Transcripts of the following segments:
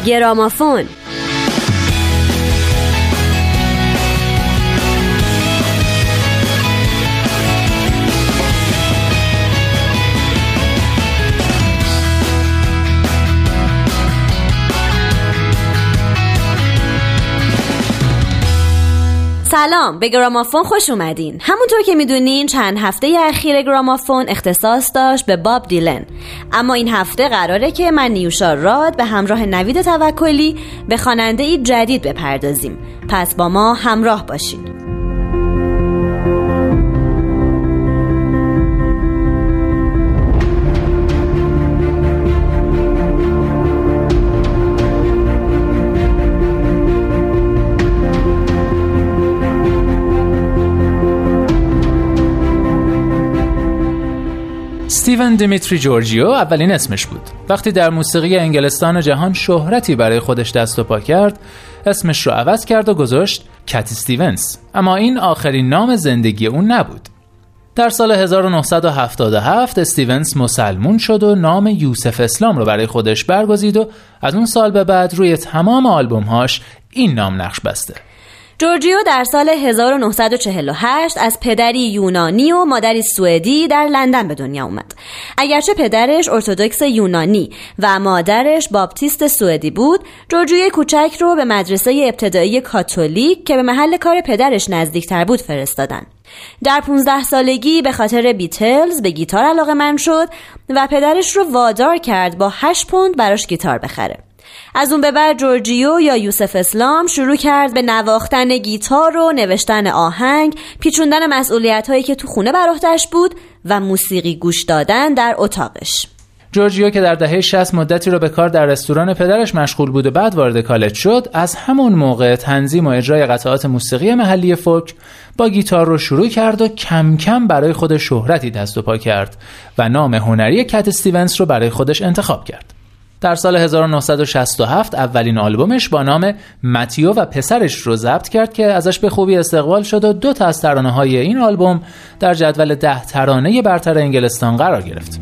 گرامافون. سلام، به گرامافون خوش اومدین. همونطور که میدونین چند هفته اخیر گرامافون اختصاص داشت به باب دیلن، اما این هفته قراره که من نیوشا راد به همراه نوید توکلی به خواننده‌ای جدید بپردازیم. پس با ما همراه باشین. استیون دیمیتری جورجیو اولین اسمش بود. وقتی در موسیقی انگلستان و جهان شهرتی برای خودش دست و پا کرد، اسمش رو عوض کرد و گذاشت کت استیونز. اما این آخرین نام زندگی اون نبود. در سال 1977 استیونز مسلمون شد و نام یوسف اسلام رو برای خودش برگزید و از اون سال به بعد روی تمام آلبوم‌هاش این نام نقش بسته. جورجیو در سال 1948 از پدری یونانی و مادری سوئدی در لندن به دنیا اومد. اگرچه پدرش ارتدوکس یونانی و مادرش باپتیست سوئدی بود، جورجیو کوچک رو به مدرسه ابتدایی کاتولیک که به محل کار پدرش نزدیکتر بود فرستادن. در 15 سالگی به خاطر بیتلز به گیتار علاقه‌مند شد و پدرش رو وادار کرد با 8 پوند براش گیتار بخره. از اون به بعد جورجیو یا یوسف اسلام شروع کرد به نواختن گیتار و نوشتن آهنگ، پیچوندن مسئولیت‌هایی که تو خونه بر عهده‌اش بود و موسیقی گوش دادن در اتاقش. جورجیو که در دهه 60 مدتی رو به کار در رستوران پدرش مشغول بود و بعد وارد کالج شد، از همون موقع تنظیم و اجرای قطعات موسیقی محلی فولک با گیتار رو شروع کرد و کم کم برای خودش شهرتی دست و پا کرد و نام هنری کت استیونز رو برای خودش انتخاب کرد. در سال 1967 اولین آلبومش با نام متیو و پسرش رو ضبط کرد که ازش به خوبی استقبال شد و 2 تا از ترانه‌های این آلبوم در جدول 10 ترانه برتر انگلستان قرار گرفت.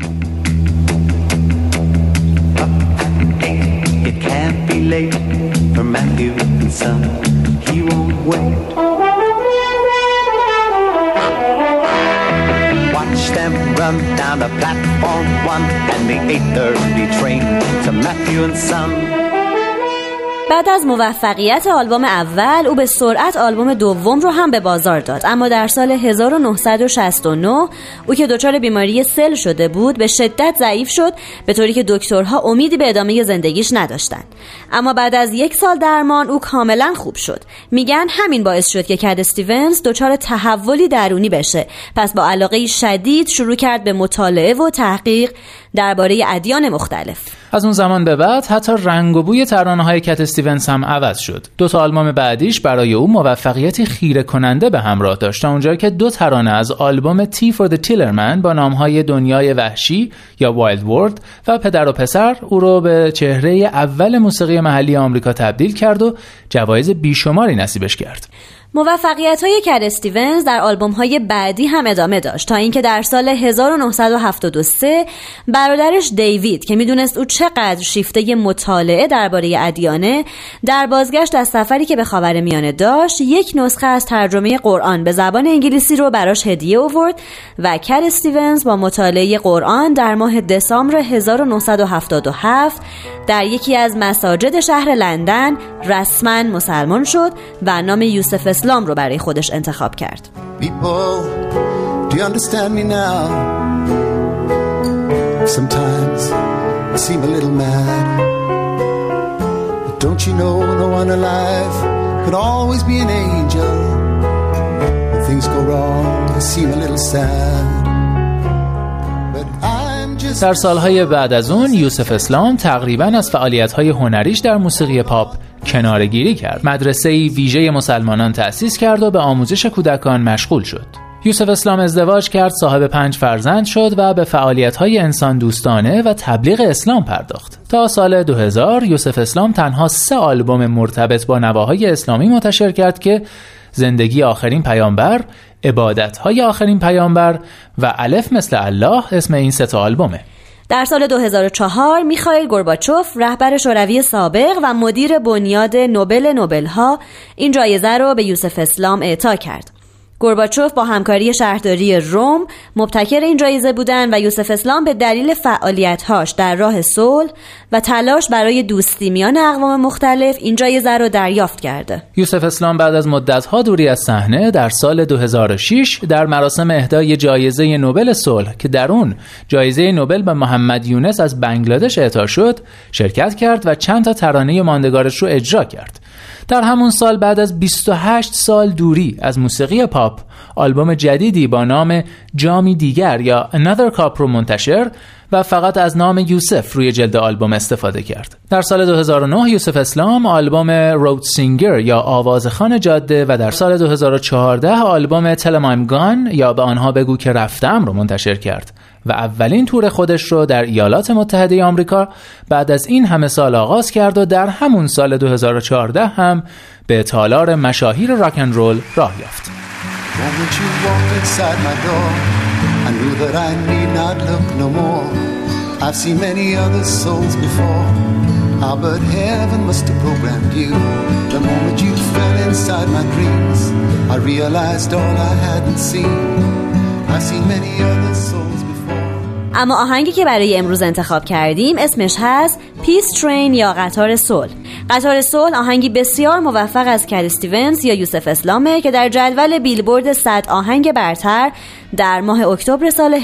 Run down the platform 1 and the 8:30 train to Matthew and Son. بعد از موفقیت آلبوم اول، او به سرعت آلبوم دوم رو هم به بازار داد. اما در سال 1969 او که دچار بیماری سل شده بود به شدت ضعیف شد، به طوری که دکترها امیدی به ادامه زندگیش نداشتند. اما بعد از 1 سال درمان او کاملا خوب شد. میگن همین باعث شد که کت استیونز دچار تحولی درونی بشه. پس با علاقه شدید شروع کرد به مطالعه و تحقیق درباره ادیان مختلف. از اون زمان به بعد حتی رنگ و بوی ترانه‌های کت استیونز هم عوض شد. 2 تا آلبوم بعدیش برای او موفقیتی خیره کننده به همراه داشت، اونجایی که 2 ترانه از آلبوم تی فور د تیلرمن با نام‌های دنیای وحشی یا وایلد ورلد و پدر و پسر او رو به چهره اول موسیقی محلی آمریکا تبدیل کرد و جوایز بیشماری نصیبش کرد. موفقیت‌های کت استیونز در آلبوم‌های بعدی هم ادامه داشت تا اینکه در سال 1973 برادرش دیوید که می‌دونست او چقدر شیفته مطالعه درباره ادیانه، در بازگشت از سفری که به خاورمیانه داشت 1 نسخه از ترجمه قرآن به زبان انگلیسی رو براش هدیه آورد و کت استیونز با مطالعه قرآن در ماه دسامبر 1977 در یکی از مساجد شهر لندن رسما مسلمان شد و نام یوسف اسلام رو برای خودش انتخاب کرد. People, do you understand me now? Sometimes I seem a little mad. But don't you know no one alive could always be an angel. When things go wrong, I seem a little sad. در سالهای بعد از اون یوسف اسلام تقریباً از فعالیت‌های هنریش در موسیقی پاپ کناره‌گیری کرد. مدرسه‌ای ویژه مسلمانان تأسیس کرد و به آموزش کودکان مشغول شد. یوسف اسلام ازدواج کرد، صاحب 5 فرزند شد و به فعالیت‌های انسان دوستانه و تبلیغ اسلام پرداخت. تا سال 2000 یوسف اسلام تنها 3 آلبوم مرتبط با نواهای اسلامی منتشر کرد که زندگی آخرین پیامبر، عبادت‌های آخرین پیامبر و الف مثل الله اسم این 3 آلبومه. در سال 2004 میخائیل گورباچوف رهبر شوروی سابق و مدیر بنیاد نوبل‌ها این جایزه رو به یوسف اسلام اعطا کرد. گورباچوف با همکاری شهرداری روم مبتکر این جایزه بودند و یوسف اسلام به دلیل فعالیت‌هاش در راه صلح و تلاش برای دوستی میان اقوام مختلف این جایزه رو دریافت کرده. یوسف اسلام بعد از مدت‌ها دوری از صحنه در سال 2006 در مراسم اهدای جایزه نوبل صلح که در اون جایزه نوبل به محمد یونس از بنگلادش اعطا شد شرکت کرد و چند تا ترانه ماندگارش رو اجرا کرد. در همون سال بعد از 28 سال دوری از موسیقی پاپ آلبوم جدیدی با نام جامی دیگر یا Another Cup رو منتشر و فقط از نام یوسف روی جلد آلبوم استفاده کرد. در سال 2009 یوسف اسلام آلبوم رود سینگر یا آوازخوان جاده و در سال 2014 آلبوم Tell 'em I'm Gone یا به آنها بگو که رفتم رو منتشر کرد و اولین تور خودش رو در ایالات متحده آمریکا بعد از این همه سال آغاز کرد و در همون سال 2014 هم به تالار مشاهیر راک اند رول راه یافت. I knew that I need not look no more. I've seen many other souls before. Ah, but heaven must have programmed you. The moment you fell inside my dreams, I realized all I hadn't seen. I've seen many other souls before. اما آهنگی که برای امروز انتخاب کردیم اسمش هست پیس ترین یا قطار صلح. قطار صلح آهنگی بسیار موفق از کد استیونز یا یوسف اسلامه که در جدول بیلبورد 100 آهنگ برتر در ماه اکتبر سال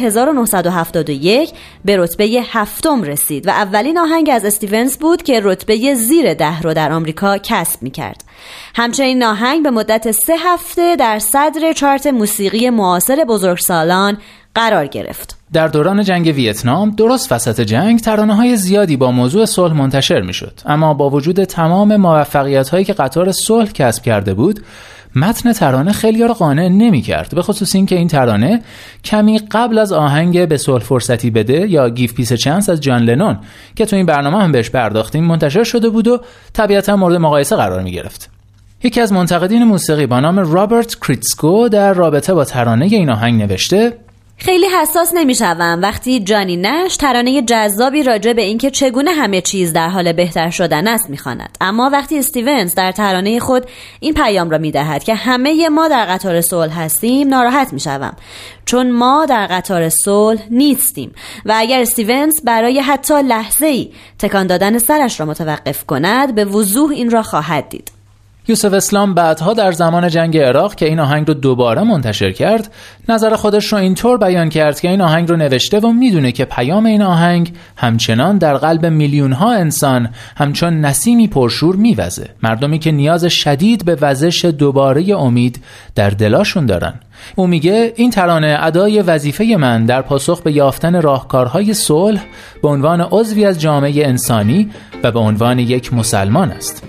1971 به رتبه 7 رسید و اولین آهنگ از استیونز بود که رتبه زیر 10 رو در آمریکا کسب می‌کرد. همچنین آهنگ به مدت 3 هفته در صدر چارت موسیقی معاصر بزرگسالان قرار گرفت. در دوران جنگ ویتنام درست وسط جنگ ترانه‌های زیادی با موضوع صلح منتشر می‌شد، اما با وجود تمام موفقیت‌هایی که قطار صلح کسب کرده بود متن ترانه خیلی‌ها را قانع نمی‌کرد، به خصوص اینکه این ترانه کمی قبل از آهنگ به صلح فرصتی بده یا گیو پیس چانس از جان لنون که تو این برنامه هم بهش پرداختیم منتشر شده بود و طبیعتاً مورد مقایسه قرار می‌گرفت. یکی از منتقدین موسیقی با نام رابرت کریتسکو در رابطه با ترانه این آهنگ نوشته: خیلی حساس نمیشم وقتی جانی نش ترانه جذابی راجع به اینکه چگونه همه چیز در حال بهتر شدن است میخواند، اما وقتی استیونز در ترانه خود این پیام را میدهد که همه ما در قطار صلح هستیم ناراحت میشم، چون ما در قطار صلح نیستیم و اگر استیونز برای حتی لحظه‌ای تکان دادن سرش را متوقف کند به وضوح این را خواهد دید. یوسف اسلام بعدها در زمان جنگ عراق که این آهنگ رو دوباره منتشر کرد نظر خودش رو اینطور بیان کرد که این آهنگ رو نوشته و میدونه که پیام این آهنگ همچنان در قلب میلیون‌ها انسان همچون نسیمی پرشور میوزه، مردمی که نیاز شدید به وزش دوباره امید در دلاشون دارن. او میگه این ترانه ادای وظیفه من در پاسخ به یافتن راهکارهای صلح به عنوان عضوی از جامعه انسانی و به عنوان یک مسلمان است.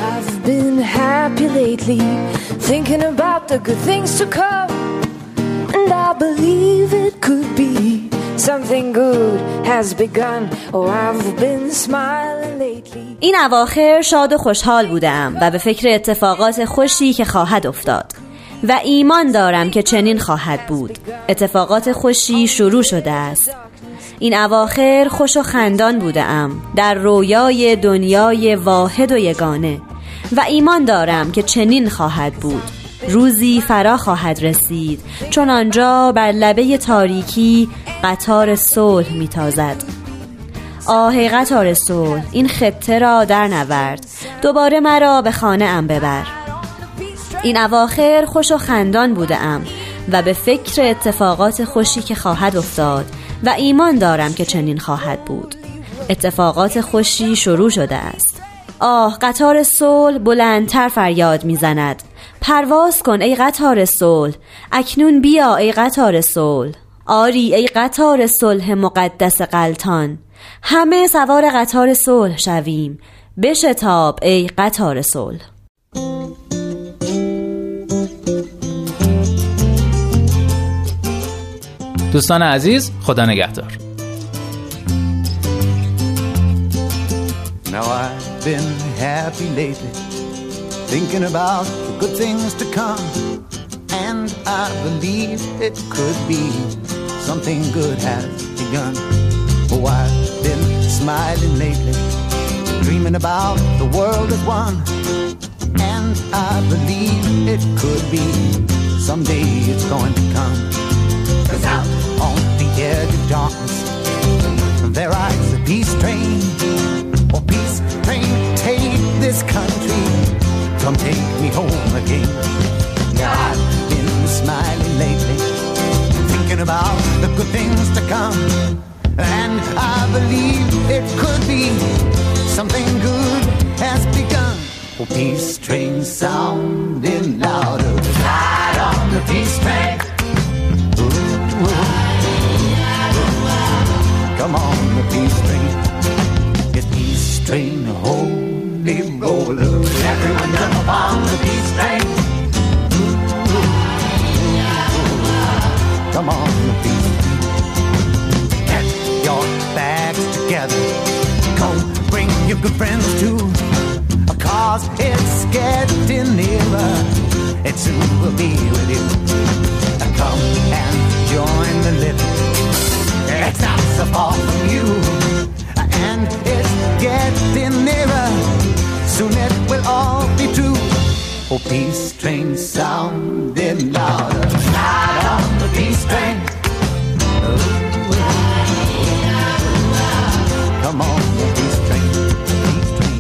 Been happy lately, thinking about the good things to come, and I believe it could be something good has begun. Oh, I've been smiling lately. این اواخر شاد و خوشحال بودم و به فکر اتفاقات خوشی که خواهد افتاد و ایمان دارم که چنین خواهد بود. اتفاقات خوشی شروع شده است. این اواخر خوش و خندان بودم در رویای دنیای واحد و یگانه و ایمان دارم که چنین خواهد بود. روزی فرا خواهد رسید چون آنجا بر لبه تاریکی قطار صلح میتازد. آه قطار صلح، این خطه را در نورد، دوباره مرا به خانه ام ببر. این اواخر خوش و خندان بودم و به فکر اتفاقات خوشی که خواهد افتاد و ایمان دارم که چنین خواهد بود. اتفاقات خوشی شروع شده است. آه قطار صلح بلندتر فریاد میزند. پرواز کن ای قطار صلح، اکنون بیا ای قطار صلح. آری ای قطار صلح مقدس غلطان، همه سوار قطار صلح شویم. بشتاب ای قطار صلح. دوستان عزیز، خدا نگهدار. Now I've been happy lately, thinking about the good things to come, and I believe it could be something good has begun. Oh, I've been smiling lately, dreaming about the world as one. And I believe it could be, someday it's going to come. 'Cause out on the edge of darkness, there rides a peace train. Oh, peace train, take this country, come take me home again. I've been smiling lately, thinking about the good things to come. And I believe it could be, something good has begun. Oh, peace train sounding louder, ride on the peace train. Ooh, ooh. Come on, the peace train. It's peace train, holy roller. Everyone jump on the peace train. Come on, the peace train. Get your bags together. Come, bring your good friends too. 'Cause it's getting nearer. It soon will be with you. Come and join the living. It's not so far from you. And it's getting nearer. Soon it will all be true. Oh, peace train sounding louder. Ride on the peace train. Come on, the peace train. Peace train.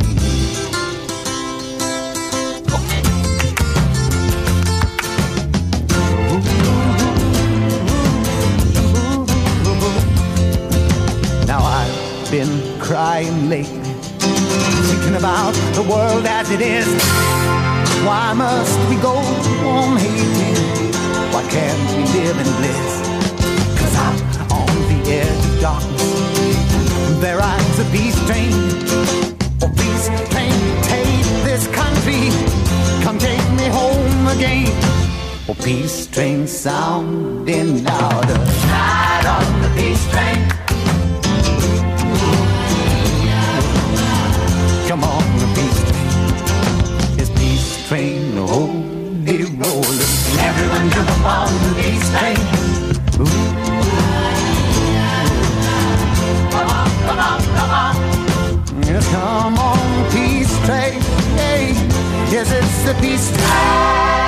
Now I've been crying lately, thinking about the world as it is. Why must we go on hating? Why can't we live in bliss? 'Cause out on the edge of darkness, there rides a peace train. Oh, peace train, take this country, come take me home again. Oh, peace train sounding louder, ride on the peace train. Come on, the peace train. It's peace train, holy roller. Everyone jump on the peace train. Ooh. Come on, come on, come on. Yes, come on, peace train. Hey, yes, it's the peace train.